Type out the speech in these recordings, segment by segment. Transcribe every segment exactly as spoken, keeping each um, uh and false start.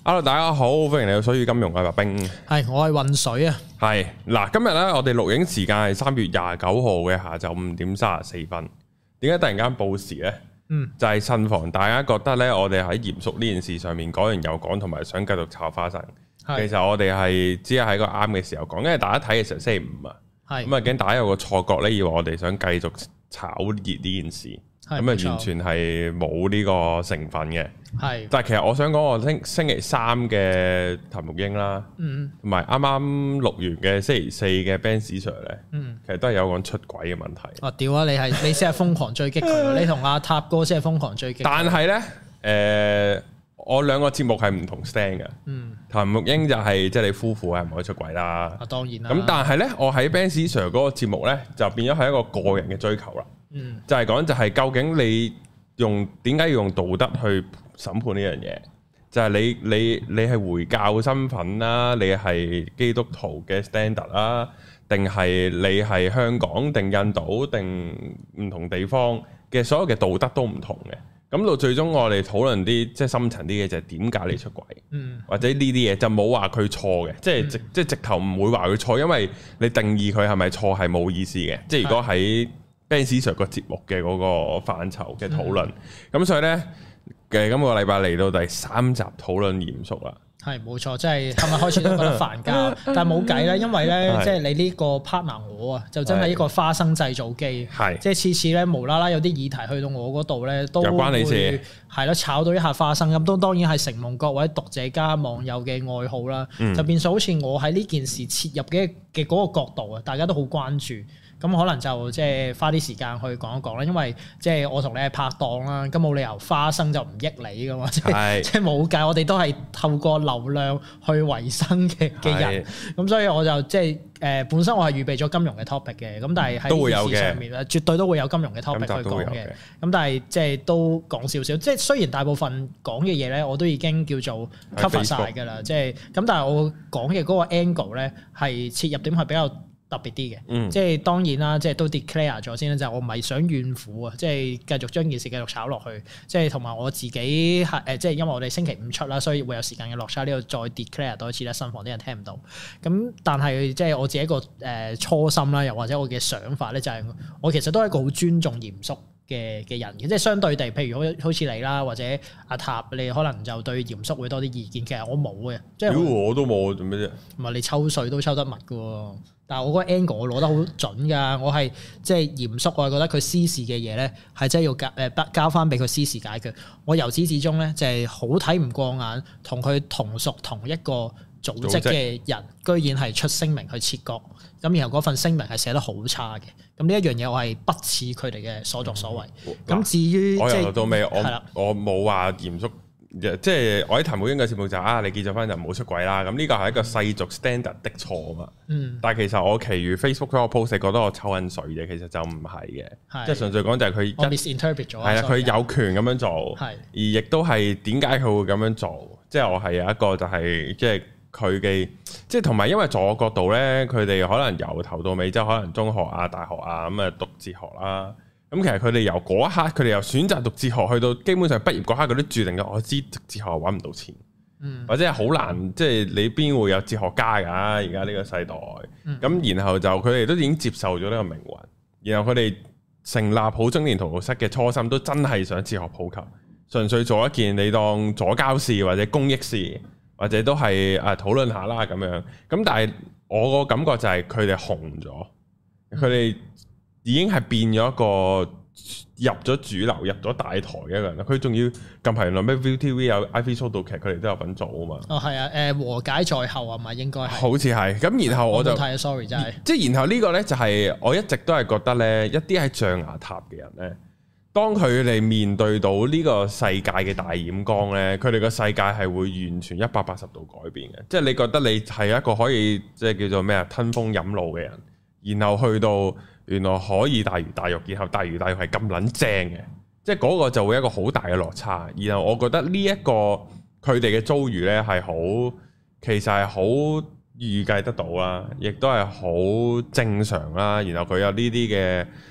Hello， 大家好，歡迎嚟到水與金融嘅白兵。 係，我係渾水啊。 係嗱，今日咧我哋錄影時間係三月廿九號嘅下晝五點三十四分。點解突然間報時咧？嗯，就係慎防大家覺得咧，我哋喺嚴肅呢件事上面講完又講，同埋想繼續炒花生。其實我哋係只係喺個啱嘅時候講，因為大家睇嘅時候星期五啊，咁啊驚大家有個錯覺咧，以為我哋想繼續炒熱呢件事。咁啊，完全係冇呢個成分嘅。係是，但係其實我想講，我星星期三嘅譚玉英啦，嗯，同埋啱啱錄完嘅星期四嘅 Ben Sir 咧，嗯，其實都係有講出軌嘅問題。哦，屌啊！你係你先係瘋狂追擊佢，你同阿塔哥先係瘋狂追擊。但係咧，誒、呃，我兩個節目係唔同 stand 嘅。嗯，譚玉英就係即係你夫婦係唔可以出軌啦。啊，當然啦。咁但係咧，我喺 Ben Sir 嗰個節目咧，就變咗係一個個人嘅追求啦。嗯，就係講就係究竟你用點解要用道德去審判呢樣嘢？就係、是、你你你係回教身份啦，你係基督徒嘅 standard 啦，定係你係香港定印度定唔同地方嘅所有嘅道德都唔同嘅。咁到最終我哋討論啲即係深層啲嘅就係點解你出軌？嗯，或者呢啲嘢就冇話佢錯嘅，即係直即係直頭唔會話佢錯，因為你定義佢係咪錯係冇意思嘅。即係如果喺Ben Sir 個節目嘅嗰個範疇嘅討論，咁、嗯、所以呢，嘅今個禮拜嚟到第三集討論嚴肅啦。係冇錯，即係琴日開始都覺得煩交，但係冇計啦，因為呢，即係你呢個 partner 我啊，就真係一個花生製造機，係即係次次呢，無啦啦有啲議題去到我嗰度呢，都會關你事，係咯，炒到一下花生咁，都當然係承蒙各位讀者加網友嘅愛好啦，嗯、就變咗好似我喺呢件事切入嘅嘅嗰個角度啊，大家都好關注。咁可能就即係花啲時間去講一講啦，因為即係我同你係拍檔啦，咁冇理由花生就唔益你噶嘛，即係即係冇計，我哋都係透過流量去維生嘅嘅人，咁是所以我就即係誒本身我係預備咗金融嘅 topic 嘅，咁但係喺呢件事上面咧，絕對都會有金融嘅 topic 去講嘅，咁但係即係都講少少，即係雖然大部分講嘅嘢咧，我都已經叫做 cover 晒㗎啦，即係咁，但係我講嘅嗰個 angle 咧係切入點係比較特別啲嘅，嗯、即係當然啦，即係都 declare 咗先啦，就係、我唔係想怨婦啊，即係繼續將件事繼續炒落去，即係同埋我自己係誒，即係因為我哋星期五出啦，所以會有時間嘅落差，呢度再 declare 多一次咧，慎防啲人聽唔到。咁但係即係我自己一個誒初心啦，又或者我嘅想法咧，就係我其實都係一個好尊重嚴肅嘅嘅人嘅，即係相對地，譬如好好似你啦，或者阿塔，你可能就對嚴肅會多啲意見。其實我冇嘅，即係如果我都冇做咩啫？唔係你抽水都抽得密嘅喎。但係我嗰個 angle 我攞得好準㗎，我係即係嚴肅，我係覺得佢私事嘅嘢咧係真係要交誒交翻俾佢私事解決。我由始至終咧就係好睇唔過眼，同佢同屬同一個組織嘅人，織居然係出聲明去切割，咁然後嗰份聲明係寫得好差嘅。咁呢一樣嘢我係不似佢哋嘅所作所為。咁、嗯、至於我由頭到尾，我的我冇話嚴肅。即係我喺譚玉英嘅節目就啊，你結咗婚就唔好出軌啦。咁呢個係一個世俗 standard 的錯啊嘛。嗯。但係其實我其餘 Facebook 嗰個 post 覺得我抽緊水嘅，其實就唔係嘅。是即係純粹講就係佢我 misinterpret 咗。係啦，佢有權咁樣做。係是。而亦都係點解佢會咁樣做？即係我係有一個就係、是、即係佢嘅，即係同埋因為在我角度咧，佢哋可能由頭到尾即係可能中學啊、大學啊咁啊讀哲學啦。咁其實佢哋由嗰一刻，佢哋由選擇讀哲學去到基本上畢業嗰刻，佢都注定咗我知讀哲學揾唔到錢，嗯、或者係好難，即係你邊會有哲學家㗎？而家呢個世代，咁、嗯、然後就佢哋都已經接受咗呢個命運，然後佢哋成立好中年荼毒室嘅初心，都真係想哲學普及，純粹做一件你當左交事或者公益事，或者都係啊討論下啦咁樣。咁但係我個感覺就係佢哋紅咗，佢哋、嗯。已經係變咗一個入咗主流、入咗大台嘅一個人啦。佢仲要近排原來咩 ViuTV 有 I V 速度劇，佢哋都有份做啊嘛。哦，係啊，誒和解在後啊嘛，應該係。好似係咁，然後我就睇 sorry 真係。即係然後呢個咧就係我一直都係覺得咧，一啲喺象牙塔嘅人咧，當佢哋面對到呢個世界嘅大染缸咧，佢哋個世界係會完全一百八十度改變嘅。即係你覺得你係一個可以即係叫做咩啊吞風飲露嘅人，然後去到。原來可以大魚大肉，然後大魚大肉係咁撚正嘅，即係嗰個就會一個好大嘅落差。然後我覺得呢一個佢哋嘅遭遇呢係好，其實係好預計得到啦，亦都係好正常啦。然後佢有呢啲嘅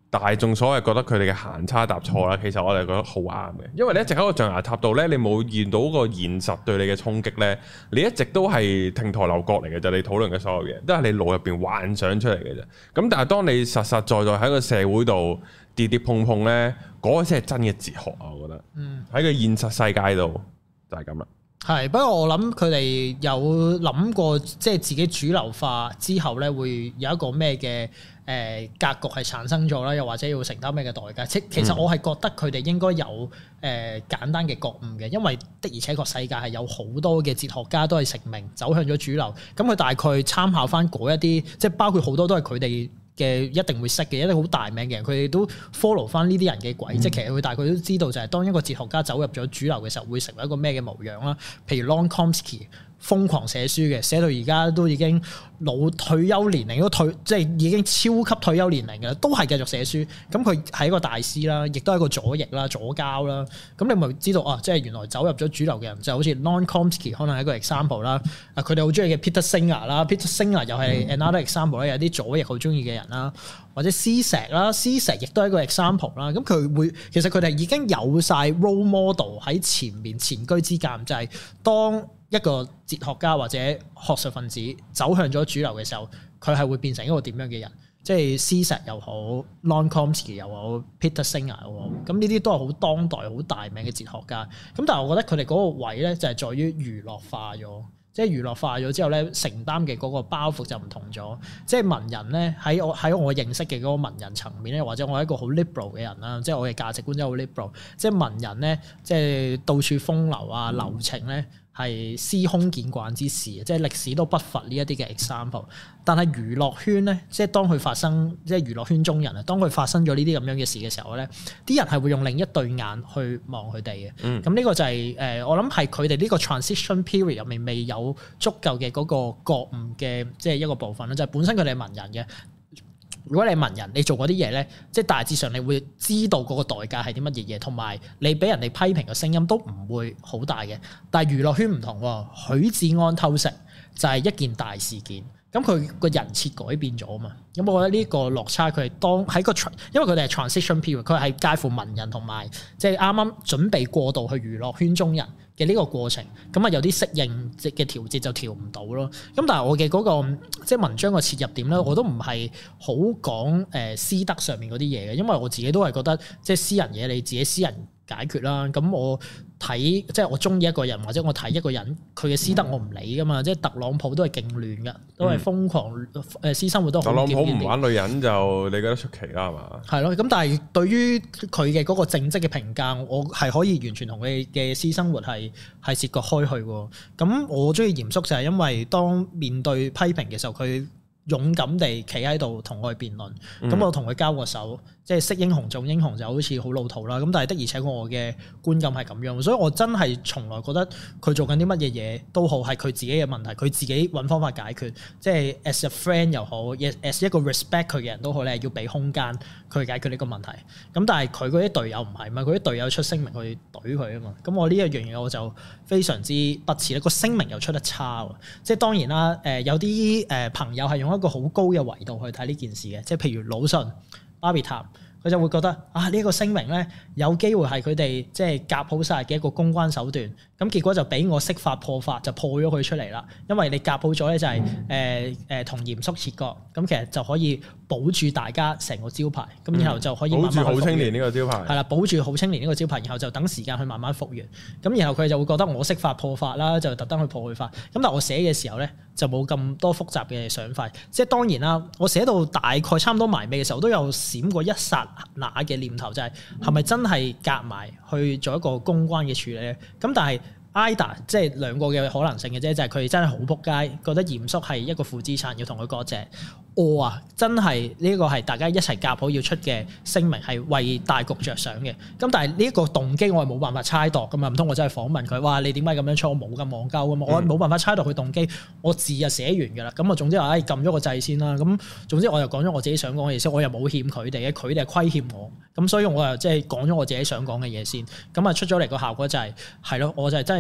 大眾所謂覺得佢哋嘅行差踏錯啦，其實我哋覺得好啱嘅，因為你一直喺個象牙塔度咧，你冇見到個現實對你嘅衝擊咧，你一直都係亭台樓閣嚟嘅啫，你討論嘅所有嘢都係你腦入邊幻想出嚟嘅啫。咁但係當你實實在在喺個社會度跌跌碰碰咧，嗰、那個先係真嘅哲學啊！我覺得，嗯，喺個現實世界度就係咁啦。 係，不過我諗佢哋有諗過，即係自己主流化之後咧，會有一個咩嘅誒格局係產生咗啦，又或者要承擔咩嘅代價？即其實我係覺得佢哋應該有誒、呃、簡單嘅覺悟嘅，因為的而且確世界係有好多嘅哲學家都係成名走向咗主流，咁佢大概參考翻嗰一啲，即係包括好多都係佢哋嘅一定會識嘅，一定好大名嘅人，佢哋都 follow 翻呢啲人嘅軌跡，嗯、其實佢大概都知道就係當一個哲學家走入咗主流嘅時候，會成為一個咩嘅模樣啦。譬如 Noam Chomsky 瘋狂寫書嘅，寫到而家都已經老退休年齡都退，即係已經超級退休年齡嘅，都係繼續寫書。咁佢係一個大師啦，亦都係一個左翼啦、左膠啦。咁你咪知道啊？即係原來走入咗主流嘅人，就好似 Noam Chomsky 可能係一個 example 啦。啊，佢哋好中意嘅 Peter Singer 啦，Peter Singer 又係 another example 咧，有啲左翼好中意嘅人啦，或者施石啦，施石亦都係一個 example 啦。咁佢會其實佢哋已經有晒 role model 喺前面前車之鑑，就係當一個哲學家或者學術分子走向咗主流嘅時候，佢係會變成一個點樣嘅人？即係施石又好 Noam Chomsky 又好 Peter Singer 又好，咁呢啲都係好當代好大名嘅哲學家。咁但係我覺得佢哋嗰個位咧就係在於娛樂化咗，即係娛樂化咗之後咧，承擔嘅嗰個包袱就唔同咗。即係文人咧喺我喺我認識嘅嗰個文人層面咧，或者我係一個好 liberal 嘅人啦，即係我嘅價值觀真係好 liberal。即係文人咧，即係到處風流啊、留情咧。係司空見慣之事，即係歷史都不乏呢一啲嘅 example。但係娛樂圈咧，即係當佢發生，即係娛樂圈中人啊，當佢發生咗呢啲咁樣嘅事嘅時候咧，啲人係會用另一對眼去望佢哋嘅。嗯，咁呢個就係、是、誒，我諗係佢哋呢個 transition period 入面未有足夠嘅嗰個覺悟嘅，即係一個部分啦。就係、是、本身佢哋係文人嘅。如果你係文人，你做嗰啲嘢咧，即係大致上你會知道嗰個代價係啲乜嘢嘢，同埋你俾人哋批評嘅聲音都唔會好大嘅。但係娛樂圈唔同喎，許志安偷食就係一件大事件，咁佢個人設改變咗啊嘛。咁我覺得呢個落差佢係當喺個，因為佢哋係 transition period，佢係介乎文人同埋即係啱啱準備過渡去娛樂圈中人嘅呢個過程，咁啊有啲適應嘅調節就調唔到咯。咁但係我嘅嗰個即係文章嘅切入點咧，我都唔係好講誒私德上面嗰啲嘢嘅，因為我自己都係覺得即係私人嘢你自己私人解決啦。咁我睇即係我中意一個人或者我睇一個人佢嘅私德我唔理噶嘛。即係特朗普都係勁亂噶，都係瘋狂誒私生活都好。特朗普唔玩女人就你覺得出奇啦係嘛？係咯，咁但係對於佢嘅嗰個正職嘅評價，我係可以完全同佢嘅私生活係係切割開去喎。咁我中意嚴肅就係因為當面對批評嘅時候，佢勇敢地企喺度同我去辯論。咁、嗯、我同佢交個手，即係識英雄重英雄就好似好老土啦。咁但係的而且確我嘅觀感係咁樣，所以我真係從來覺得佢做緊啲乜嘢嘢都好係佢自己嘅問題，佢自己揾方法解決。即係 as a friend 又好 as 一個 respect 佢嘅人都好咧，要俾空間佢解決呢個問題。咁但係佢嗰啲隊友唔係嘛，佢啲隊友出聲明去懟佢啊嘛。咁我呢一樣嘢我就非常之不齒咧。個聲明又出得差喎。即係當然啦，誒有啲誒朋友係用一個好高嘅維度去睇呢件事嘅，即係譬如魯迅、巴別塔，佢就會覺得啊呢一個聲明咧有機會係佢哋即係夾好晒嘅一個公關手段，咁結果就俾我識法破法就破咗佢出嚟啦。因為你夾好咗咧就係誒誒同嚴肅切割，咁其實就可以保住大家成個招牌，咁、嗯、然後就可以慢慢保住好青年呢個招牌，係啦，保住好青年呢個招牌，然後就等時間去慢慢復原。咁然後佢就會覺得我識法破法啦，就特登去破佢法。咁但係我寫嘅時候咧就冇咁多複雜嘅想法，即係當然啦，我寫到大概差唔多埋尾嘅時候，都有閃過一剎那嘅念頭，就係係咪真係夾埋去做一個公關嘅處理咧？咁但係either即係兩個嘅可能性嘅啫，就係佢哋真係好撲街，覺得嚴肅係一個負資產，要同佢割席。我啊，真係呢個係大家一齊夾好要出嘅聲明，係為大局着想嘅。咁但係呢一個動機我係冇辦法猜度噶嘛，唔通我真係訪問佢，哇你點解咁樣錯？我冇咁戇鳩噶嘛，我冇辦法猜度佢動機。我字就寫完噶啦，咁啊總之話唉撳咗個掣先啦。咁總之我又講咗我自己想講嘅嘢先，我又冇欠佢哋嘅，佢哋係虧欠我。咁所以我又即係講咗我自己想講嘅嘢先。咁啊出咗嚟個效果就係係咯，我就係真係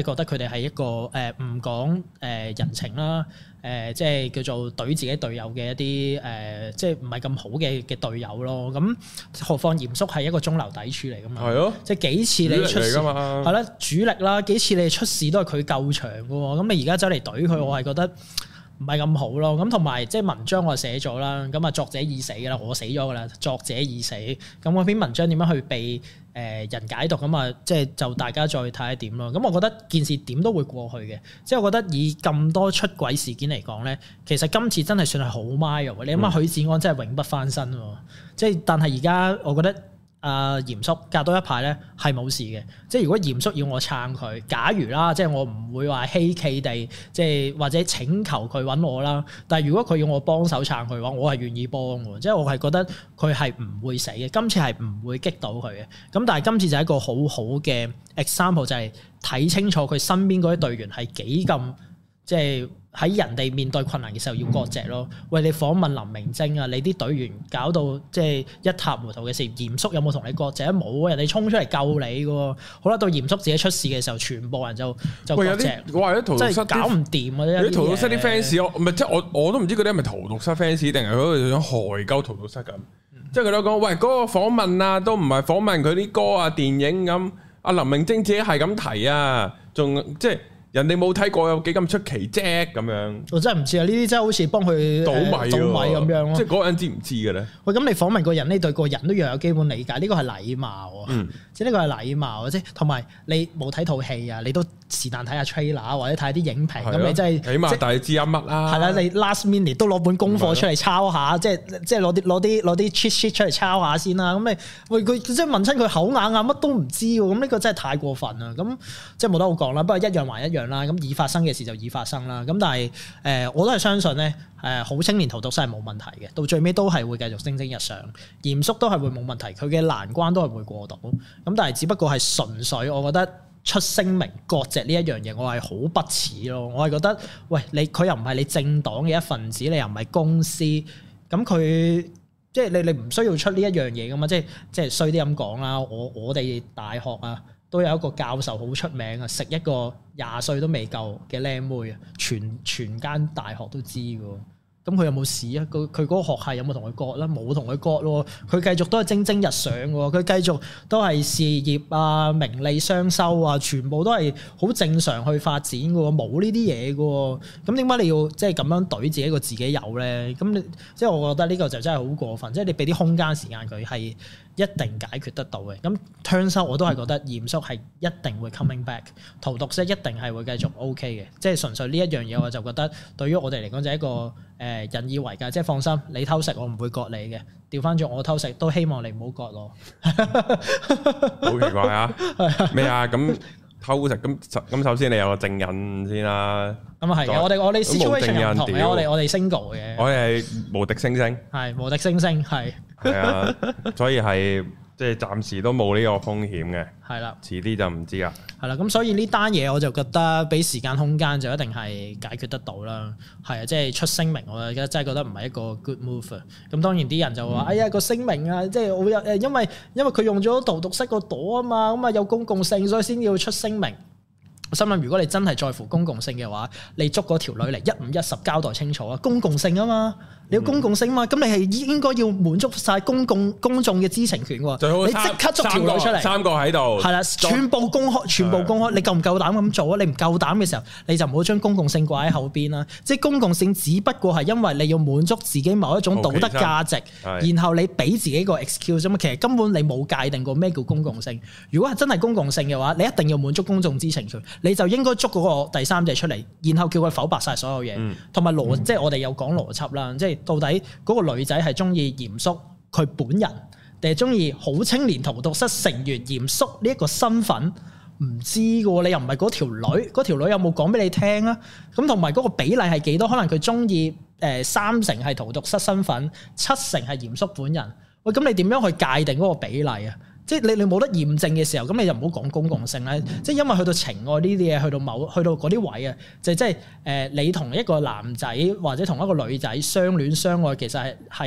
覺得佢哋係一個誒唔講誒人情啦，誒、呃、即係叫做懟自己隊友嘅一啲誒、呃，即係唔係咁好嘅嘅隊友咯。咁何況嚴肅係一個中流砥柱嚟噶嘛？係咯，即係幾次你出事係啦，主力啦，幾次你出事都係佢救場噶喎。咁你而家走嚟懟佢，我係覺得唔係咁好咯。咁同埋即係文章我寫咗啦，咁啊作者已死噶啦，我死咗噶啦，作者已死。咁嗰篇文章點樣去被誒人解讀咁啊？即係就大家再睇下點咯。咁我覺得件事點都會過去嘅。即係我覺得以咁多出軌事件嚟講咧，其實今次真係算係好 mild。你諗下許志安真係永不翻身喎。即係但係而家我覺得。啊，嚴肅隔多一排咧係冇事嘅，即係如果嚴肅要我撐佢，假如啦，即係我唔會話稀奇地，即係或者請求佢揾我啦。但係如果佢要我幫手撐佢嘅話，我係願意幫嘅，即係我係覺得佢係唔會死嘅，今次係唔會擊到佢嘅。咁但係今次就係一個好好嘅 example，就係睇清楚佢身邊嗰啲隊員係幾咁即係。喺人哋面對困難嘅時候要割席咯。喂，你訪問林明晶啊，你啲隊員搞到即係一塌糊塗嘅事，嚴肅有冇同你割席？冇啊，人哋衝出嚟救你嘅。好啦，到嚴肅自己出事嘅時候，全部人就就割席。 我話啲荼毒室搞唔掂啊！ 啲荼毒室啲 fans，我唔係即係我我都唔知佢哋係咪荼毒室 fans 定係佢哋想害鳩荼毒室咁。嗯、即係佢都講，喂，嗰、嗰個訪問啊，都唔係訪問佢啲歌啊、電影咁。阿林明晶自己係咁提啊，仲即係。人哋冇睇過有幾咁出奇啫咁樣，我真係唔知啊！呢啲真係好似幫佢倒米倒米咁樣咯。即係嗰個人知唔知嘅咧？喂，咁你訪問個人，你對個人都要有基本理解，呢個係禮貌啊！嗯、即係呢個係禮貌啊！即係同埋你冇睇套戲啊，你都是但睇下 trailer 或者睇下啲影評，咁、啊、你真係起碼大致知一乜啦。係啦、啊，你 last minute 都攞本功課出嚟抄下，啊、即係即係攞啲攞啲攞啲 cheat sheet 出嚟抄下先啦。咁你喂佢即係問親佢口硬啊，乜都唔知喎。咁呢個真係太過分啦！咁即係冇得好講啦。不過一樣還一樣啦。咁已發生嘅事就已發生啦。咁但係誒、呃，我都係相信咧，誒、呃、好青年荼毒室係冇問題嘅，到最尾都係會繼續蒸蒸日上，嚴肅都係會冇問題，佢嘅難關都係會過到。咁但係只不過係純粹，我覺得出聲明割席呢一樣嘢，我係好不齒咯。我係覺得，喂，你佢又唔係你政黨嘅一份子，你又唔係公司，咁佢即係你你唔需要出呢一樣嘢噶嘛？即係即係衰啲咁講啦。我我哋大學啊，都有一個教授好出名啊，食一個廿歲都未夠嘅靚妹啊，全全間大學都知㗎。咁佢有冇事啊？佢佢嗰個學系有冇同佢割啦？冇同佢割咯。佢繼續都係蒸蒸日上喎。佢繼續都係事業啊、名利雙收啊，全部都係好正常去發展㗎喎。冇呢啲嘢㗎喎。咁點解你要即係咁樣懟自己個自己有咧？咁你即係我覺得呢個就真係好過分。即係你俾啲空間時間佢係一定解決得到嘅。咁 turns out 我都係覺得嚴肅係一定會 coming back，荼毒室一定係會繼續 OK 嘅。即係純粹呢一樣嘢，我就覺得對於我哋嚟講就係一個誒引以為戒，即係放心，你偷食我唔會割你嘅。調翻轉我偷食都希望你唔好割我。好奇怪啊！咩啊？咁偷食咁咁，首先你有個證人先啦。咁啊係嘅，我哋我哋 situation 唔同嘅，我哋我哋 single 嘅。我哋係無敵星星，係無敵星星，係係啊，所以係。即係暫時都冇呢個風險嘅，係啦，遲啲就唔知啦。係啦，咁所以呢單嘢我就覺得俾時間空間就一定係解決得到啦。係啊，即係出聲明，我而家真係覺得唔係一個 good move 啊。咁當然啲人就話：嗯、哎呀個聲明啊，即係我有誒，因為因為佢用咗荼毒室個朵啊嘛，咁啊有公共性，所以先要出聲明。我心諗，如果你真係在乎公共性嘅話，你捉嗰條女嚟一五一十交代清楚啊！公共性啊嘛，你要公共性嘛，咁、嗯、你係應該要滿足晒公共公眾嘅知情權喎。最好你即刻捉條女出嚟，三個喺度，係啦，全部公開，全部公開。你夠唔夠膽咁做啊？你唔夠膽嘅時候，你就唔好將公共性掛喺後邊啦。即係公共性，只不過係因為你要滿足自己某一種道德價值，然後你俾自己個 excuse 啫嘛。其實根本你冇界定過咩叫公共性。如果係真係公共性嘅話，你一定要滿足公眾知情權。你就應該捉嗰個第三者出嚟，然後叫佢否白晒所有嘢，同埋邏，即係我哋有講邏輯啦。即係到底嗰個女仔係中意嚴肅佢本人，定係中意好青年荼毒室成員嚴肅呢一個身份？唔知㗎喎，你又唔係嗰條女，嗰條女有冇講俾你聽啊？咁同埋嗰個比例係幾多？可能佢中意誒三成係荼毒室身份，七成係嚴肅本人。喂，咁你點樣去界定嗰個比例啊？即係你你冇得驗證嘅時候，咁你就唔好講公共性啦。即係因為去到情愛呢啲嘢，去到某去到嗰啲位啊，就即係誒你同一個男仔或者同一個女仔相戀相愛，其實係係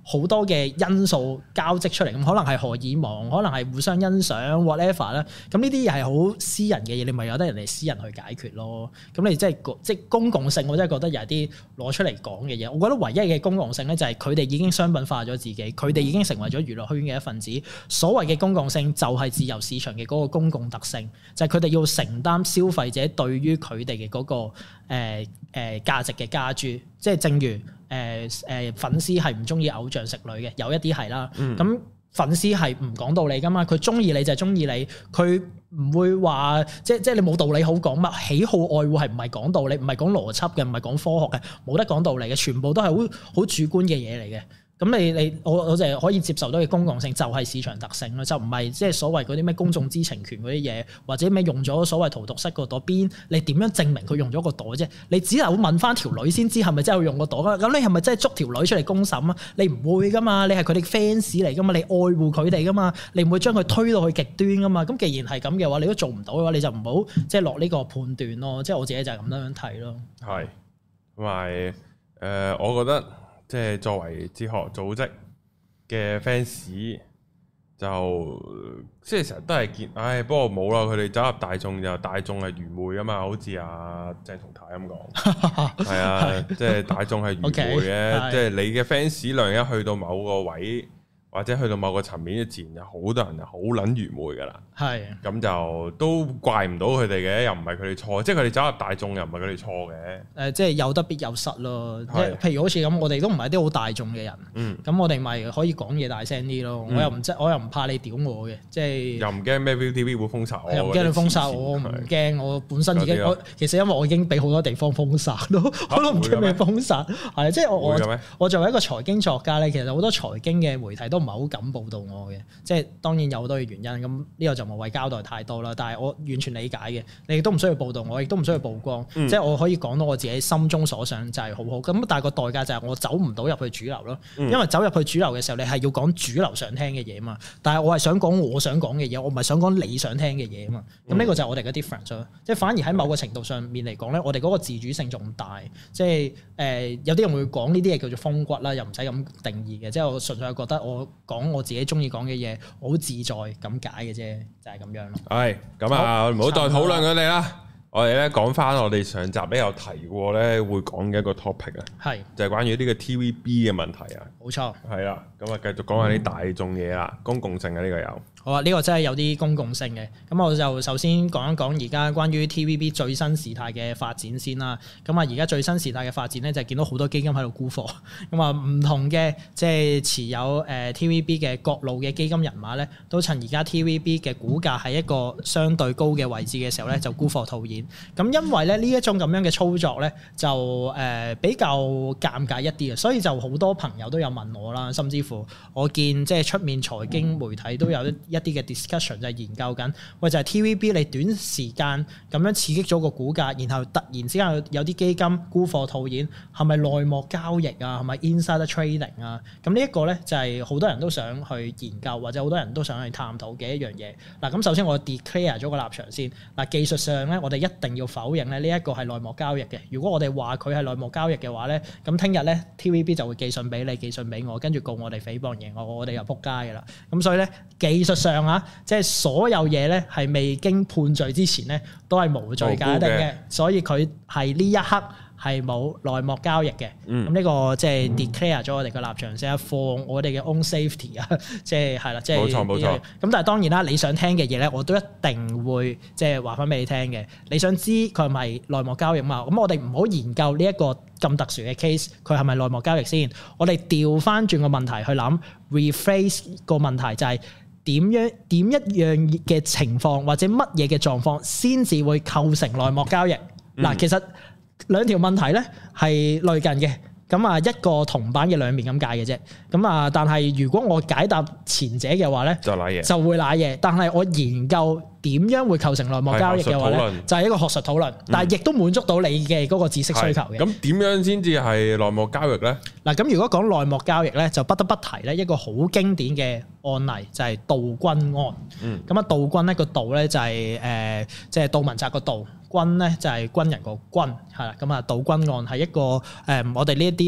好多嘅因素交織出嚟，咁可能係荷爾蒙，可能係互相欣賞 whatever 啦。咁呢啲嘢係好私人嘅嘢，你咪由得人哋私人去解決咯。咁你即係即係公共性，我真係覺得有啲攞出嚟講嘅嘢。我覺得唯一嘅公共性咧，就係佢哋已經商品化咗自己，佢哋已經成為咗娛樂圈嘅一份子。所謂嘅公共性就係自由市場嘅嗰個公共特性，就係佢哋要承擔消費者對於佢哋嘅嗰個誒誒價值嘅加諸。即係正如誒誒、呃、粉絲係唔中意偶像食女嘅，有一啲係啦。咁、嗯、粉絲係唔講道理噶嘛，佢中意你就係中意你，佢唔會話即即係你冇道理好講嘛。喜好愛護係唔係講道理，唔係講邏輯嘅，唔係講科學嘅，冇得講道理嘅，全部都係好好主觀嘅嘢嚟嘅。咁你你我我就係可以接受到嘅公共性就係市場特性咯，就唔係即係所謂嗰啲咩公眾知情權嗰啲嘢，或者咩用咗所謂荼毒室個朵邊，你點樣證明佢用咗個朵啫？你只係會問翻條女先知係咪真係用個朵啊？咁你係咪真係捉條女出嚟公審啊？你唔會噶嘛，你係佢哋 fans 嚟噶嘛，你愛護佢哋噶嘛，你唔會將佢推到去極端噶嘛。咁既然係咁嘅話，你都做唔到嘅話，你就唔好即係落呢個判斷咯。即係我自己就係咁樣睇咯。係， 同埋誒，我覺得。即係作為哲學組織嘅 fans，就即係成日都係見，唉，不過冇啦，佢哋走入大眾就大眾係愚昧啊嘛，好似阿鄭松泰咁講，係啊，即係大眾係愚昧嘅，即係你嘅 fans 量一去到某個位，或者去到某個層面，自然有好多人就好撚愚昧噶啦。係咁是就都怪唔到佢哋嘅，又唔係佢哋錯，即係佢哋走入大眾又唔係佢哋錯嘅。誒、呃，即係有得必有失咯。是即係譬如好似咁，我哋都唔係啲好大眾嘅人。嗯。咁我哋咪可以講嘢大聲啲咯。嗯、我又唔即我又唔怕你屌我嘅，即係。又唔驚咩 ViuTV 會封殺我？又唔驚你封殺我？我唔驚，我本身已經我其實因為我已經俾好多地方封殺咯，我都唔驚咩封殺。係即係我我我作為一個財經作家咧，其實好多財經嘅媒體都唔係好敢報導我嘅，即係當然有好多嘅原因，咁呢個就無謂交代太多啦。但係我完全理解嘅，你亦都唔需要報導我，亦都唔需要曝光，嗯、即係我可以講到我自己心中所想就係好好。咁但係個代價就係我走唔到入去主流咯，嗯、因為走入去主流嘅時候，你係要講主流想聽嘅嘢嘛。但係我係想講我想講嘅嘢，我唔係想講你想聽嘅嘢啊嘛。咁呢、嗯、個就係我哋嘅 difference 咯。即係反而喺某個程度上面嚟講咧，我哋嗰個自主性仲大。即係誒、呃，有啲人會講呢啲嘢叫做風骨啦，又唔使咁定義嘅。即係我純粹係覺得我講我自己中意講嘅嘢，好自在咁解嘅啫，就係、是、咁樣咯。係咁啊，唔好再討論佢哋啦。我哋咧講翻我哋上集咧有提過咧會講嘅一個 topic 啊，係就係關於呢個 T V B 嘅問題啊。冇錯，係啦，咁啊繼續講下啲大眾嘢啦，嗯、公共性啊呢個有。好啊，呢、這個真係有啲公共性嘅。咁我就首先講一講而家關於 T V B 最新事態嘅發展先啦。咁啊，而家最新事態嘅發展咧就係見到好多基金喺度沽貨。咁啊，唔同嘅即係持有誒 T V B 嘅各路嘅基金人馬咧，都趁而家 T V B 嘅股價喺一個相對高嘅位置嘅時候咧，就沽貨套現。咁因為咧呢一種咁樣嘅操作咧，就誒比較尷尬一啲嘅，所以就好多朋友都有問我啦，甚至乎我見即係出面財經媒體都有一啲嘅 discussion 就係研究緊，喂就係 T V B 你短時間咁樣刺激咗個股價，然後突然之間有啲基金沽貨套現，係咪內幕交易啊？係咪 insider trading 啊？咁呢一個咧就係好多人都想去研究，或者好多人都想去探討嘅一樣嘢。嗱，咁首先我 declare 咗個立場先。嗱，技術上咧，我哋一定要否認咧呢一個係內幕交易嘅。如果我哋話佢係內幕交易嘅話咧，咁聽日咧 T V B 就會寄信俾你，寄信俾我，跟住告我哋誹謗贏我，我哋又撲街噶啦。咁所以咧技術上啊，即係所有嘢咧係未經判罪之前咧，都係無罪界定嘅。所以佢係呢一刻係冇內幕交易嘅。咁呢、嗯、個即係 declare 咗我哋嘅立場先，for 我哋嘅 own safety 啊，即係係啦，即係冇錯冇錯。咁但係當然啦，你想聽嘅嘢咧，我都一定會即係話翻俾你聽嘅。你想知佢係咪內幕交易嘛？咁我哋唔好研究呢一個咁特殊嘅 case，佢係咪內幕交易先？我哋調翻轉個問題去諗 rephrase 個問題就係、是。點樣點一樣嘅情況或者乜嘢嘅狀況先至會構成內幕交易？嗱、嗯，其實兩條問題咧係類近嘅，咁啊一個銅板嘅兩面咁解嘅啫。咁啊，但係如果我解答前者嘅話咧，就瀨嘢，就會瀨嘢。但係我研究點樣會構成內幕交易嘅話咧，就係一個學術討論，但係亦都滿足到你嘅嗰個知識需求嘅。咁點樣先至係內幕交易咧？嗱，咁如果講內幕交易咧，就不得不提咧一個好經典嘅案例，就係杜君案。嗯。咁啊，杜君咧個杜咧就係誒，即係杜汶澤個杜，君咧就係軍人個軍，係啦。咁啊，杜君案係一個誒，我哋呢一啲讀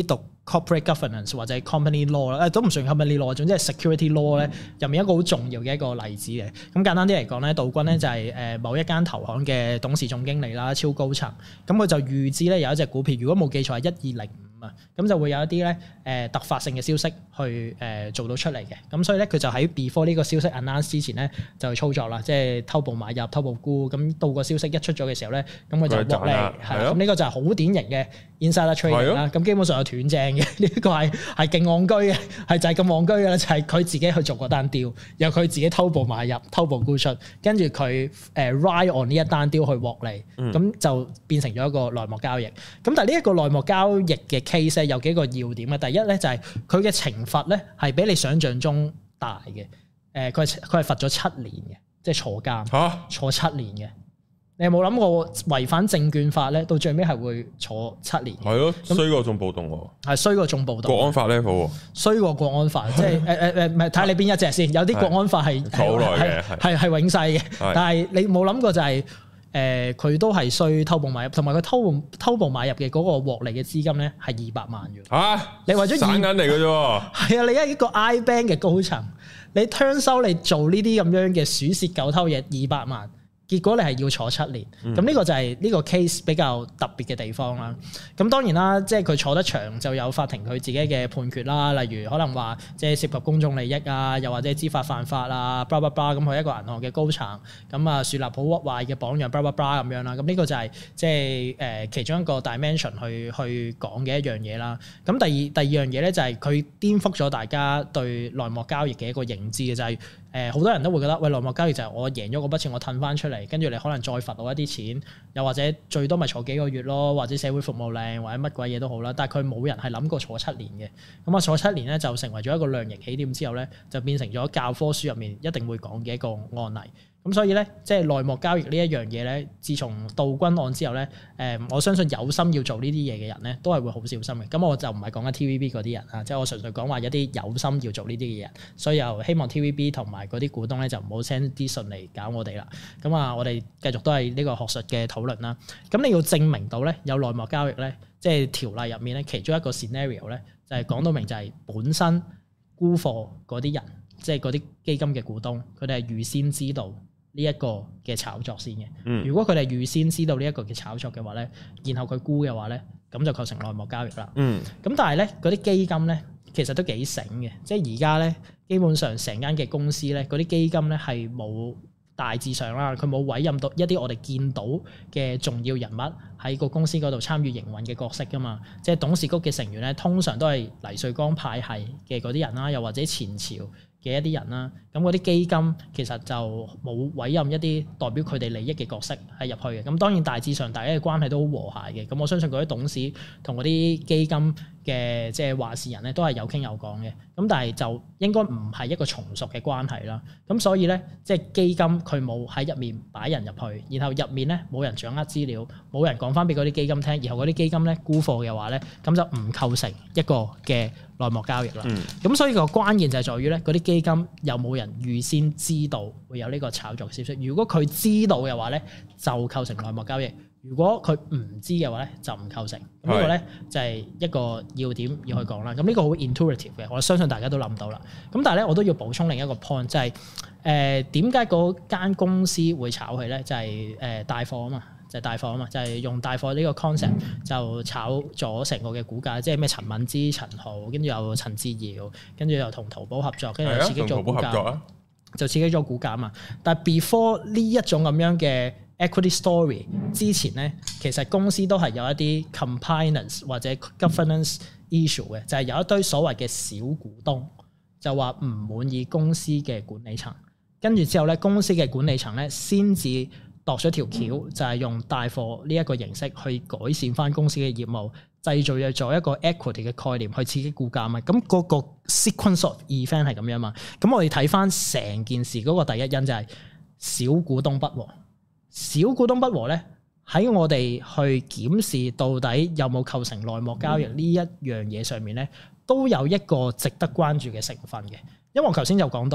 corporate governance 或者 company law 啦，誒都唔算 company law，總之係 security law 咧入面一個好重要嘅一個例子嘅。咁簡單啲嚟講咧，道君咧就係誒某一間投行嘅董事總經理啦，超高層。咁佢就預知咧有一隻股票，如果冇記錯係一二零五啊，咁就會有一啲咧誒突發性嘅消息去誒做到出嚟嘅。咁所以咧佢就喺 before 呢個消息 announce 之前咧就去操作啦，即係偷步買入、偷步沽。咁到個消息一出咗嘅時候咧，咁佢就獲利。係啦，咁呢個就係好典型嘅 insider trading 啦。咁基本上有斷正嘅，呢個係係勁戇居嘅，係就係咁戇居嘅啦，就係、是、佢自己去做嗰單 deal，由佢自己偷步買入、偷步沽出，跟住佢誒 ride on 呢一單 deal 去獲利，咁、嗯、就變成咗一個內幕交易。咁但係呢一個內幕交易嘅 case 有幾個要點嘅，第一咧就係佢嘅懲罰咧係比你想象中大嘅。誒佢係佢係罰咗七年嘅，即係坐監，啊、坐七年嘅。你有冇諗過違反證券法咧？到最尾係會坐七年？係咯， 衰過仲暴動喎。 係衰過仲暴動。國安法 level 衰過國安法，即係誒誒誒，唔係睇你邊一隻先。有啲國安法係好耐嘅，係係永世嘅。但係你冇諗過就係誒，佢都係衰偷步買入，同埋佢偷步偷步買入嘅嗰個獲利嘅資金咧係二百萬嘅。嚇！你為咗散銀嚟嘅啫喎。係啊，你係一個 I bank 嘅高層，你 turn 收你做呢啲咁樣嘅鼠竊狗偷嘢二百萬。結果你係要坐七年，咁呢、嗯、個就係呢個 case 比較特別嘅地方啦。咁當然啦，即係佢坐得長就有法庭佢自己嘅判決啦。例如可能話即係涉及公眾利益啊，又或者知法犯法啊，blah blah blah 咁佢一個銀行嘅高層，咁啊樹立好屈壞嘅榜樣 blah blah blah 咁樣啦。咁呢個就係即係誒其中一個 dimension 去去講嘅一樣嘢啦。咁第二第二樣嘢咧就係佢顛覆咗大家對內幕交易嘅一個認知嘅，就係誒好多人都會覺得喂，內幕交易就係我贏咗嗰筆錢我褪翻出嚟。跟住你可能再罰我一啲錢，又或者最多咪坐幾個月咯，或者社會服務令或者乜鬼嘢都好啦。但係佢冇人係諗過坐七年嘅。咁啊坐七年咧就成為咗一個量刑起點之後咧，就變成咗教科書入面一定會講嘅一個案例。咁所以咧，即係內幕交易呢一樣嘢咧，自從道君案之後咧，誒，我相信有心要做呢啲嘢嘅人咧，都係會好小心嘅。咁我就唔係講緊 T V B 嗰啲人啊，即係我純粹講話一啲有心要做呢啲嘅人，所以又希望 T V B 同埋嗰啲股東咧就唔好 send 啲信嚟搞我哋啦。咁啊，我哋繼續都係呢個學術嘅討論啦。咁你要證明到咧有內幕交易咧，即係條例入面咧其中一個 scenario 咧，就係講到明就係本身沽貨嗰啲人，即係嗰啲基金嘅股東，佢哋係預先知道呢一個嘅炒作先嘅。如果佢哋預先知道呢一個嘅炒作嘅話咧，然後佢沽嘅話咧，咁就構成內幕交易啦。嗯。咁但係咧，嗰啲基金咧，其實都幾醒嘅，即係而家咧，基本上成間嘅公司咧，嗰啲基金咧係冇大致上啦，佢冇委任到一啲我哋見到嘅重要人物喺個公司嗰度參與營運嘅角色噶嘛。即係董事局嘅成員咧，通常都係黎瑞剛派系嘅嗰啲人啦，又或者前朝嘅一啲人啦，咁嗰啲基金其實就冇委任一啲代表佢哋利益嘅角色係入去嘅。咁當然大致上大家嘅關係都好和諧嘅。咁我相信嗰啲董事同嗰啲基金嘅即係話事人咧都係有傾有講嘅。咁但係就應該唔係一個從屬嘅關係啦。咁所以咧，即係基金佢冇喺入面擺人入去，然後入面咧冇人掌握資料，冇人講翻俾嗰啲基金聽，然後嗰啲基金咧沽貨嘅話咧，咁就唔構成一個嘅內幕交易啦。咁、嗯、所以個關鍵就係在於咧，嗰啲基金有冇人預先知道會有呢個炒作消息？如果佢知道嘅話咧，就構成內幕交易；如果佢唔知嘅話咧，就唔構成。咁呢個咧就係一個要點要去講啦。咁呢個好 intuitive 嘅，我相信大家都諗到啦。咁但係咧，我都要補充另一個 point，就係誒點解嗰間公司會炒佢咧？就係誒帶貨啊嘛。就係帶貨啊嘛，就係、是、用帶貨呢個 concept 就炒咗成個嘅股價，即係咩陳敏之、陳豪，跟住又陳志堯，跟住又同淘寶合作，跟住又刺激咗股價，啊、就刺激咗股價啊嘛。但係 before 呢一種咁樣嘅 equity story 之前咧，其實公司都係有一啲 compliance 或者 governance issue 嘅，就係有一堆所謂嘅小股東就話唔滿意公司嘅管理層，跟住之後咧，公司嘅管理層咧先至度咗條橋，就係用帶貨呢一個形式去改善翻公司嘅業務，製造咗做一個 equity 嘅概念去刺激股價嘛。咁嗰個 sequence of event 係咁樣嘛。咁我哋睇翻成件事嗰個第一因就係小股東不和。小股東不和咧，喺我哋去檢視到底有冇構成內幕交易呢一樣嘢上面咧，都有一個值得關注嘅成分嘅。因為我頭先就講到啦，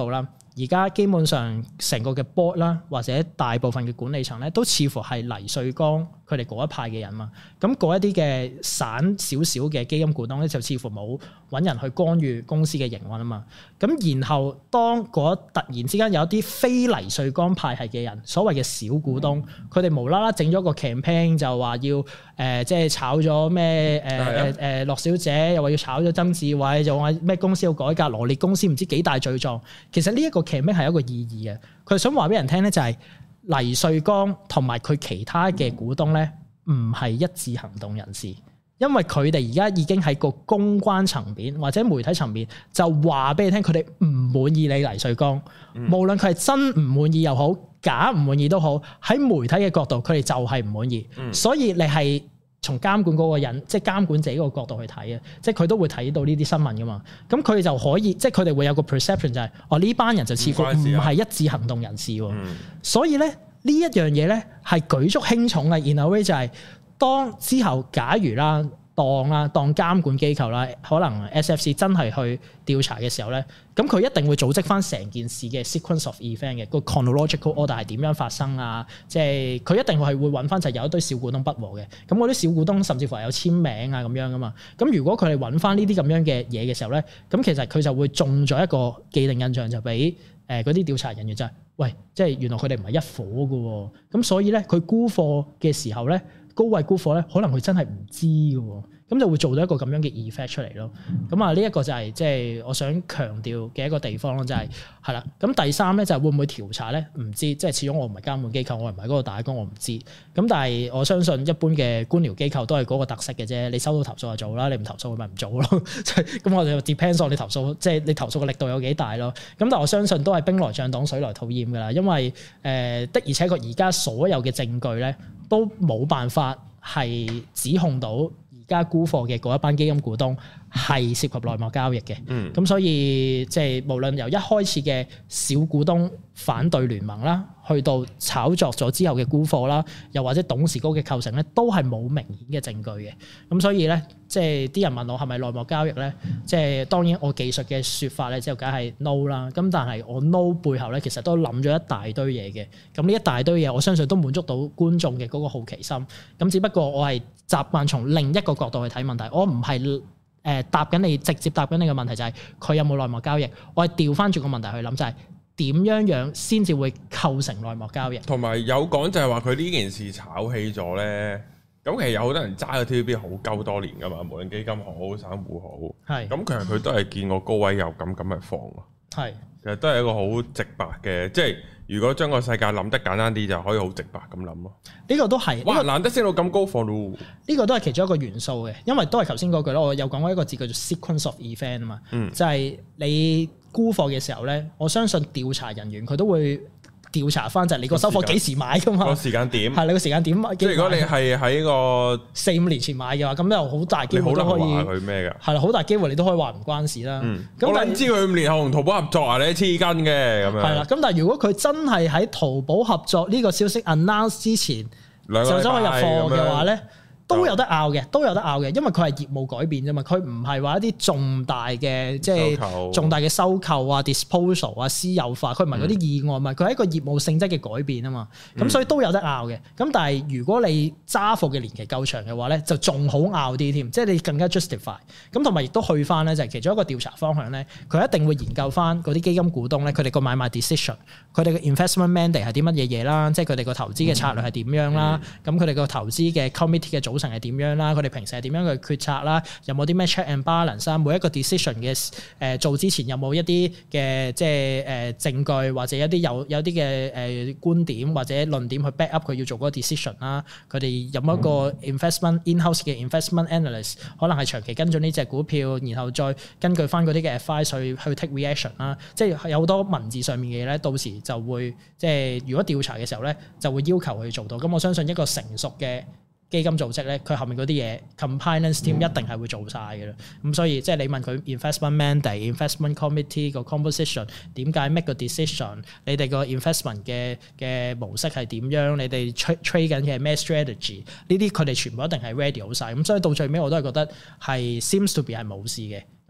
而家基本上成個嘅 board 啦，或者大部分嘅管理層咧，都似乎係黎瑞剛佢哋嗰一派嘅人嘛。咁嗰一啲嘅散少少嘅基金股東咧，就似乎冇揾人去干預公司嘅營運啊嘛。咁然後當嗰突然之間有一啲非黎瑞剛派系嘅人，所謂嘅小股東，佢哋無啦啦整咗個 campaign 就話要誒、呃、即係炒咗咩誒誒誒樂小姐，又話要炒咗曾志偉，又話咩公司要改革，羅列公司唔知幾大罪狀。其實呢一個 campaign 係一個意義嘅，佢想話俾人聽咧，就係黎瑞剛同埋佢其他嘅股東咧，唔係一致行動人士，因為佢哋而家已經喺個公關層面或者媒體層面就話俾你聽，佢哋唔滿意你黎瑞剛，嗯、無論佢係真唔滿意又好，假唔滿意都好，喺媒體嘅角度，佢哋就係唔滿意，嗯、所以你係。從監管嗰個人，即係監管者嗰個角度去睇嘅，即係佢都會睇到呢啲新聞噶嘛。咁佢哋就可以，即係佢哋會有個 perception 就係、是，哦呢班人就似乎唔係一致行動人士喎。嗯、所以咧呢一樣嘢咧係舉足輕重嘅。然後咧就係當之後假如啦。當啦，當監管機構啦，可能 S F C 真係去調查嘅時候咧，咁佢一定會組織翻成件事嘅 sequence of event 嘅個 chronological order 係點樣發生啊？即係佢一定係會揾翻就係有一堆小股東不和嘅，咁嗰啲小股東甚至乎係有簽名啊咁樣噶嘛。咁如果佢哋揾翻呢啲咁樣嘅嘢嘅時候咧，咁其實佢就會中咗一個既定印象，就俾誒嗰啲調查人員就係、是，喂，即係原來佢哋唔係一夥噶喎。咁所以咧，佢沽貨嘅時候咧。高位沽貨咧，可能佢真係唔知嘅，咁就會做到一個咁樣嘅 effect 出嚟咯。咁啊，呢一個就係即係我想強調嘅一個地方咯，就係係啦。咁第三咧就係會唔會調查咧？唔知，即係始終我唔係監管機構，我唔係嗰個打工，我唔知。咁但係我相信一般嘅官僚機構都係嗰個特色嘅啫。你收到投訴就做啦，你唔投訴咪唔做咯。咁我哋就 depends on 你投訴，即係你投訴嘅力度有幾大咯。咁但係我相信都係兵來將擋，水來土掩㗎啦。因為誒、呃、的而且確而家所有嘅證據咧。都冇辦法係指控到而家沽貨嘅嗰一班基金股東係涉及內幕交易嘅。嗯，咁所以即係無論由一開始嘅小股東反對聯盟啦，去到炒作咗之後嘅沽貨啦，又或者董事局嘅構成咧，都係冇明顯嘅證據嘅。咁所以咧，即係啲人問我係咪內幕交易咧？即係當然我技術嘅説法咧，就梗係 no 啦。咁但係我 no 背後咧，其實都諗咗一大堆嘢嘅。咁呢一大堆嘢，我相信都滿足到觀眾嘅嗰個好奇心。咁只不過我係習慣從另一個角度去睇問題，我唔係誒答緊你直接答緊你嘅問題，就係佢有冇內幕交易。我係調翻轉個問題去諗，就係點樣樣先至會構成內幕交易。同埋有講就係話佢呢件事炒起咗咧，咁其實有好多人揸個 T V B 好鳩多年噶嘛，無論基金好散戶好，係咁是其實佢都係見過高位有咁咁咪放咯，係是其實都係一個好直白嘅，即係如果將個世界諗得簡單啲，就可以好直白咁諗咯。呢個都係哇，難得升到咁高放咯，呢個都係其中一個元素嘅，因為都係頭先嗰句咯，我有講過一個字叫做 sequence of event 啊嘛，嗯，就係你沽貨嘅時候咧，我相信調查人員佢都會調查翻就係你個收貨幾時買噶嘛？個時間點係你個時間點。即係如果你係喺個四五年前買嘅話，咁又好大機會都可以話佢咩㗎？係啦，好大機會你都可以話唔關事啦。嗯，咁但係知佢五年後同淘寶合作啊？你黐筋嘅咁樣。係啦，咁但係如果佢真係喺淘寶合作呢個消息 announce 之前就走去入貨嘅話咧？都有得拗嘅，都有得拗嘅，因為佢係業務改變啫嘛，佢唔係話一啲重大嘅即係重大嘅收購啊、disposal 啊、私有化，佢唔係嗰啲意外嘛，佢係、嗯、一個業務性質嘅改變啊嘛，咁、嗯、所以都有得拗嘅。咁但係如果你揸貨嘅年期夠長嘅話咧，就仲好拗啲添，即係你更加 justify。咁同埋亦都去翻咧，就係其中一個調查方向咧，佢一定會研究翻嗰啲基金股東咧，佢哋個買賣 decision，佢哋嘅 investment mandate 係啲乜嘢嘢啦，即係佢哋個投資嘅策略係點樣啦，咁佢哋個投資嘅 committee 嘅組成係點樣啦？佢哋平時係點樣去決策啦？有冇啲咩 check and balance 啊？每一個 decision 嘅誒、呃、做之前有冇一啲嘅即係誒、呃、證據或者一啲有有啲嘅誒觀點或者論點去 back up 佢要做嗰個 decision 啦？佢哋有冇一個 investment in-house 嘅 investment analyst 可能係長期跟進呢隻股票，然後再根據翻嗰啲嘅 advice 去去 take reaction 啦？即係有好多文字上面嘅嘢咧，到時就會即係如果調查嘅時候咧，就會要求佢做到。咁我相信一個成熟嘅基金組織咧，佢後面嗰啲嘢 compliance team 一定係會做晒嘅啦。咁、嗯、所以即係你問佢 investment mandate、investment committee 個 composition 點解 make 個 decision？ 你哋個 investment 嘅嘅模式係點樣？你哋 trade 緊嘅係咩 strategy？ 呢啲佢哋全部一定係 ready 好晒。咁所以到最尾我都係覺得係 seems to be 係冇事嘅。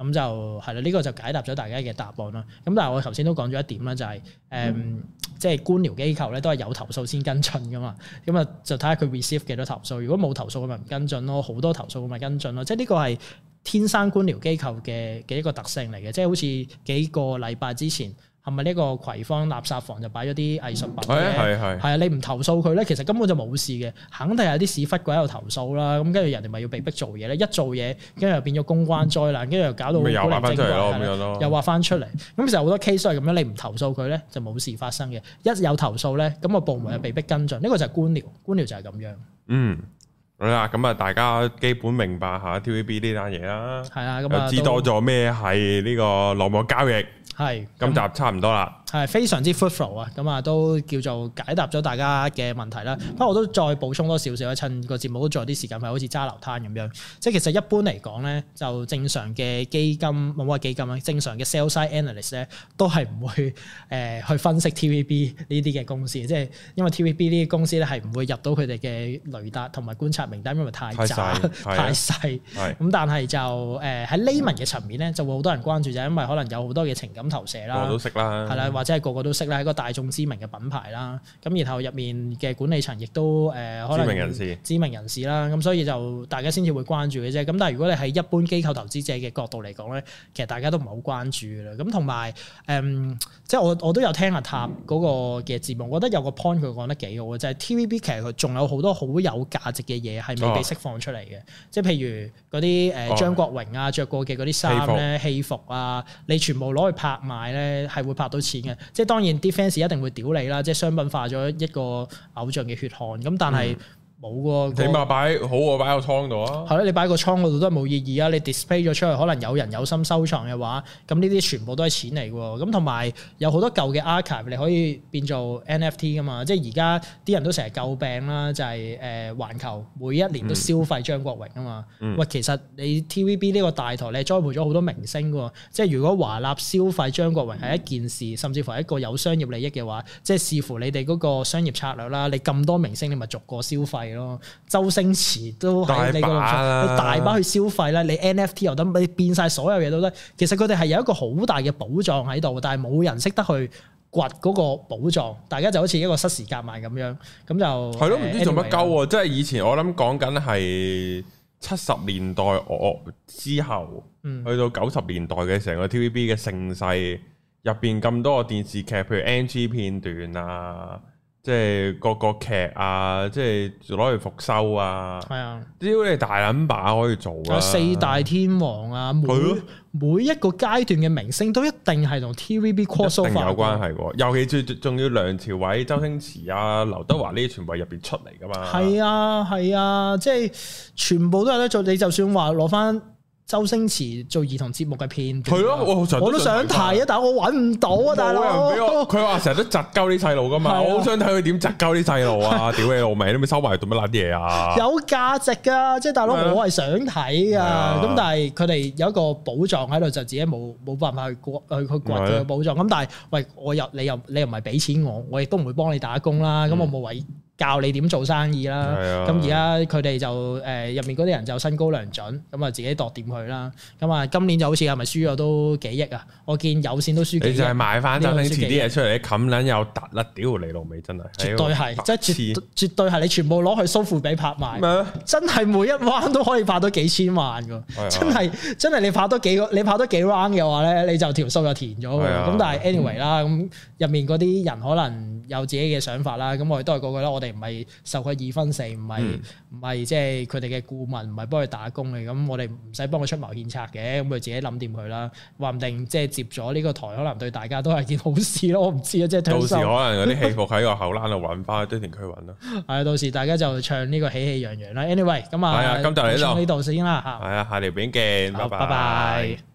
咁就係啦，呢、這個就解答咗大家嘅答案啦。咁但係我頭先都講咗一點啦，就係、是、誒，嗯、即係官僚機構咧都係有投訴先跟進噶嘛。咁啊就睇下佢 receive 幾多投訴，如果冇投訴，佢咪唔跟進咯；好多投訴，佢咪跟進咯。即係呢個係天生官僚機構嘅嘅一個特性嚟嘅。即係好似幾個禮拜之前。係咪呢個葵芳垃圾房就擺咗啲藝術品咧？係係係啊！你唔投訴佢咧，其實根本就冇事嘅，肯定係有啲屎忽鬼喺度投訴啦。咁跟住人哋咪要被逼做嘢咧，一做嘢跟住又變咗公關災難，跟住又搞到古靈精怪咯，又話翻出嚟。咁其實好多 case 都係咁樣，你唔投訴佢咧就冇事發生嘅。一有投訴咧，咁個部門就被逼跟進。呢、嗯、個就係官僚，官僚就係咁樣。嗯，好啦，咁啊，大家基本明白下 T V B 呢單嘢啦。係啊，咁啊，知多咗咩係呢個內幕交易。係，今集差唔多啦。係非常之 fruitful 啊，咁啊都叫做解答咗大家嘅問題啦。不過我都再補充多少少，趁個節目都仲有啲時間，咪好似揸流灘咁樣。即係其實一般嚟講咧，就正常嘅基金冇乜基金啦，正常嘅 sell side analyst 咧都係唔會誒去分析 T V B 呢啲嘅公司，即係因為 T V B 呢啲公司咧係唔會入到佢哋嘅雷達同埋觀察名單，因為太渣太細。咁但係就誒喺 layman 嘅層面咧，就會好多人關注，就係因為可能有好多嘅情感投射啦，我都識啦，係啦。或者係個個都識啦，係一個大眾知名嘅品牌啦。咁然後入面嘅管理層亦都誒、呃、可能知名人士、知名人士啦。咁所以就大家先至會關注嘅啫。咁但係如果你係一般機構投資者嘅角度嚟講咧，其實大家都唔係好關注嘅啦。咁同埋誒，即係我我都有聽阿塔嗰個嘅節目，我覺得有個 point 佢講得幾好嘅，就係、是、T V B 其實佢仲有好多好有價值嘅嘢係未被釋放出嚟嘅。哦、即係譬如嗰啲誒張國榮啊着過嘅嗰啲衫咧、戲服啊，你全部攞去拍賣咧，係會拍到錢嘅。即係當然啲 fans 一定會屌你啦，即係商品化咗一個偶像嘅血汗。咁但係冇喎，起碼擺好過擺喺個倉度啊。係咯，你擺喺個倉嗰度都係冇意義啊。你 display 咗出去，可能有人有心收藏嘅話，咁呢啲全部都係錢嚟喎。咁同埋有好多舊嘅 archive 你可以變做 N F T 噶嘛。即係而家啲人都成日詬病啦，就係誒環球每一年都消費張國榮啊嘛。喂、嗯，其實你 T V B 呢個大台，你栽培咗好多明星喎。即係如果華納消費張國榮係一件事，甚至乎係一個有商業利益嘅話，即係視乎你哋嗰個商業策略啦。你咁多明星，你咪逐個消費咯。周星馳都喺你嗰度，你大把去消費啦。你 N F T 又得，你變晒所有嘢都得。其實佢哋係有一個好大嘅寶藏喺度，但係冇人識得去掘嗰個寶藏。大家就好似一個失時夾萬咁樣，咁就係咯，唔知做乜鳩喎。即係以前我諗講緊係七十年代我之後，嗯、去到九十年代嘅成個 T V B 嘅盛世入邊咁多個電視劇，譬如 N G 片段啊。即係個個劇啊，即係攞嚟復修啊，係啊，只要你大撚把可以做啊。四大天王啊，每的每一個階段嘅明星都一定係同 T V B crossover 有關係喎。尤其最仲要梁朝偉、周星馳啊、劉德華呢啲全部係入邊出嚟噶嘛。係啊係啊，即係全部都有得做。你就算話攞翻周星馳做兒童節目嘅片段，係咯，我我都想睇啊，但係我揾唔到啊，大佬。佢話成日都窒鳩啲細路噶嘛，我好想睇佢點窒鳩啲細路啊！屌你老味，你咪收埋做乜撚嘢啊？有價值噶，即係大佬，我係想睇噶。咁但係佢哋有一個寶藏喺度，就自己冇冇辦法去掘去去掘佢嘅寶藏。咁但係喂，我又你又你又唔係俾錢我，我亦都唔會幫你打工啦。咁我冇為教你點做生意啦，咁而家佢哋就誒入、呃、面嗰啲人就身高良準，咁啊自己度掂佢啦。咁啊今年就好似係咪輸咗都幾億啊？我見有線都輸幾億。你就係買翻周星馳啲嘢出嚟，你冚撚又突啦，屌你老味真係。絕對係，即係絕絕對係你全部攞去蘇富比拍賣，麼真係每一 round 都可以拍到幾千萬㗎。真係真係你拍多幾個，你拍多幾 round 嘅話咧，你就條數就填咗㗎。咁但係 anyway 啦，咁入面嗰啲人可能有自己嘅想法啦。咁我哋都係嗰句啦，我哋唔係受佢二分四，唔係唔係即係佢哋嘅顧問，唔係幫佢打工嘅。咁我哋唔使幫佢出謀獻策嘅，咁佢自己諗掂佢啦。話唔定即係接咗呢個台，可能對大家都係件好事咯。我唔知啊，即係到時可能嗰啲戲服喺個後欄度揾翻，堆填區揾咯。係啊，到時大家就唱呢個喜氣洋洋啦。Anyway，咁啊，今集嚟到呢度先啦嚇。係啊，下條片見，拜拜。